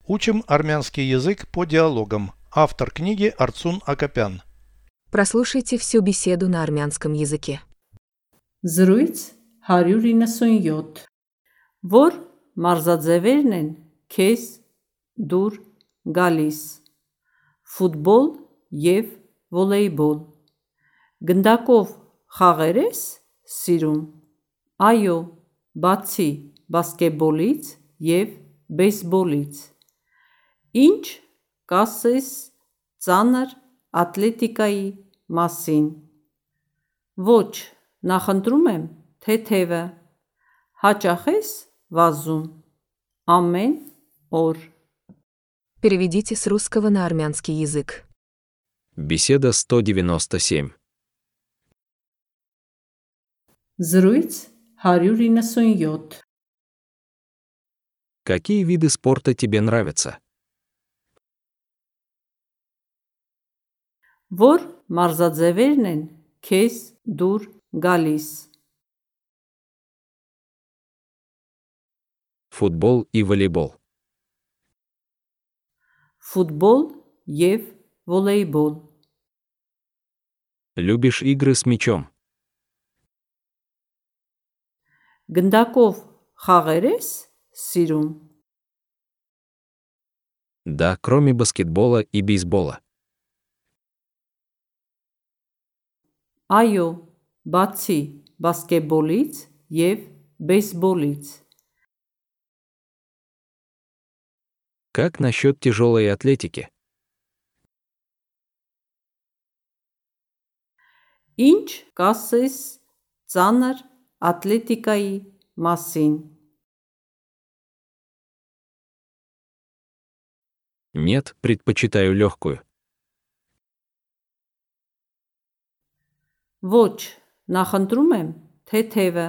Учим армянский язык по диалогам. Автор книги Арцун Акопян. Прослушайте всю беседу на армянском языке. Զրույց 197 Որ մարզաձևերն են քեզ դուր գալիս ֆուտբոլ եւ վոլեյբոլ Գնդակով խաղեր ես սիրում Այո բացի բասկետբոլից եւ բեյսբոլից Ինչ կասես ծանր ատլետիկայի մասին Ոչ Նախընտրում եմ թեթևը, հաճախ ես վազում, ամեն օր։ Переведите с русского на армянский язык. Беседа 197. Զրույց 197 Какие виды спорта тебе нравятся? Որ մարզաձևերն են քեզ դուր գալիս Футбол и волейбол. Ֆուտբոլ եւ վոլեյբոլ Любишь игры с мячом? Գնդակով խաղեր ես սիրում Да, кроме баскетбола и бейсбола. Այո բացի բասկետբոլից եւ բեյսբոլից Как насчет тяжелой атлетики? Ինչ կասես ծանր ատլետիկայի մասին Нет, предпочитаю легкую. Ոչ նախընտրում եմ թեթևը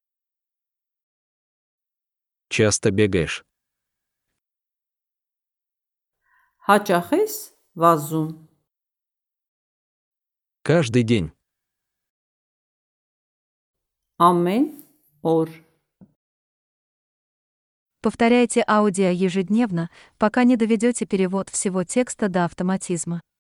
Часто бегаешь? Հաճախ ես վազում Каждый день. ամեն օր Повторяйте аудио ежедневно, пока не доведете перевод всего текста до автоматизма.